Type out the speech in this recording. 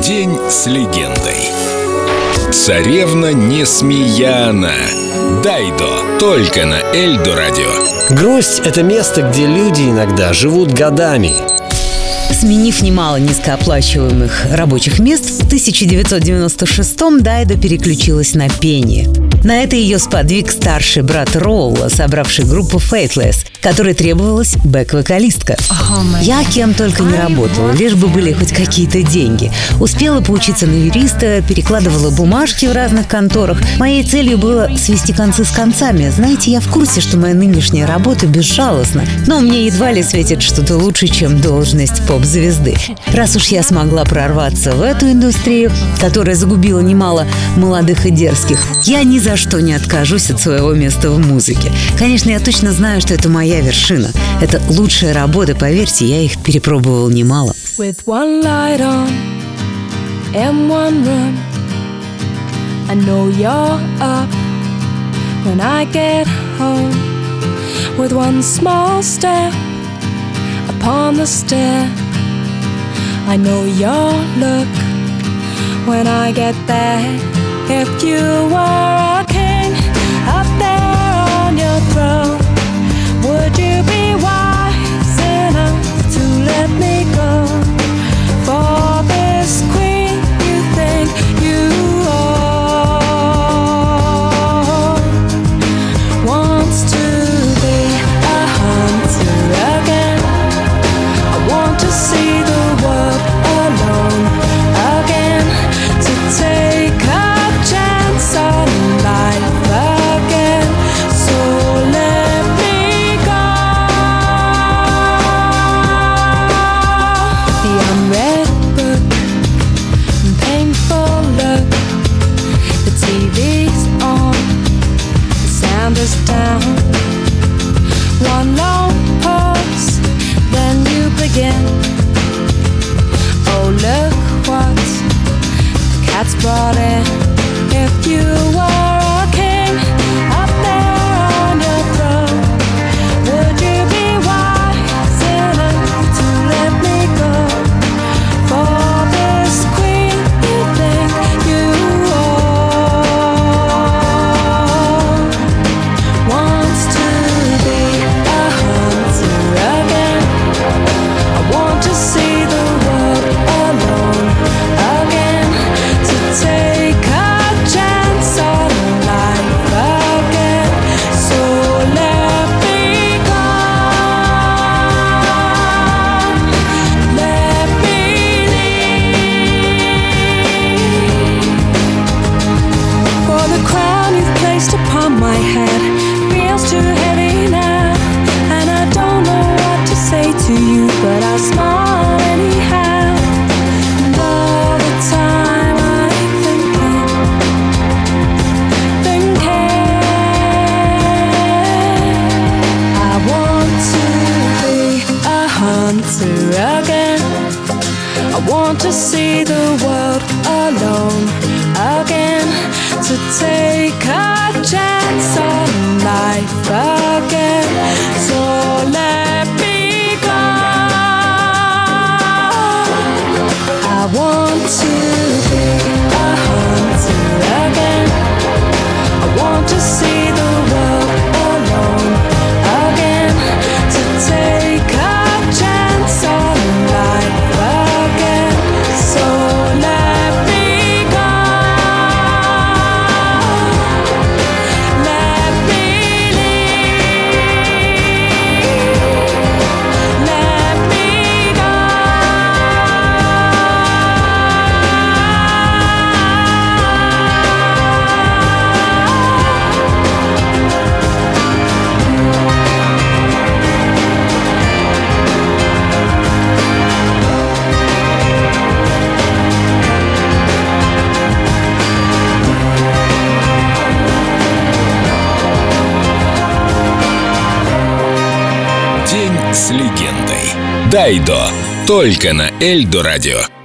День с легендой. Царевна Несмеяна. Дайдо. Только на Эльдо Радио. Грусть — это место, где люди иногда живут годами. Сменив немало низкооплачиваемых рабочих мест, в 1996-м Дайдо переключилась на пение. На это ее сподвиг старший брат Роула, собравший группу Faithless, которой требовалась бэк-вокалистка. Я кем только не работала, лишь бы были хоть какие-то деньги. Успела поучиться на юриста, перекладывала бумажки в разных конторах. Моей целью было свести концы с концами. Знаете, я в курсе, что моя нынешняя работа безжалостна, но мне едва ли светит что-то лучше, чем должность поп-звезды. Раз уж я смогла прорваться в эту индустрию, которая загубила немало молодых и дерзких, я ни за что не откажусь от своего места в музыке. Конечно, я точно знаю, что это моя вершина. Это лучшая работа, поверьте, я их перепробовал немало. With one light on and one room, I know you're up when I get home. With one small step upon the stair, I know your look when I get there. If you were a king up there on your throne, would you be wise enough to let me go for this queen you think you own? Wants to be a hunter again. I want to see the world alone again, to take a chance on life again. So let me go. The unread book and painful look. The TV's on, the sound is down. One long pause, then you begin. Oh, look what the cat's brought in. If you were a king up there on your throne, would you be wise enough to let me go for this queen you think you own? Wants to be a hunter again. I want to see the world alone again, to take a chance on life again. So let me go. Let me leave. For the crown you've placed upon my head feels too heavy now, and I don't know what to say to you, but I'll smile anyhow. And all the time I'm thinking, I want to be a hunter again. I want to see the world alone again, to take a chance on life again. So let me go. I want to be a hunter again. I want to see the world alone again, to take a chance on life again. So let me go. Let me leave. Let me go. День с легендой. Дайдо. Только на Эльдо Радио.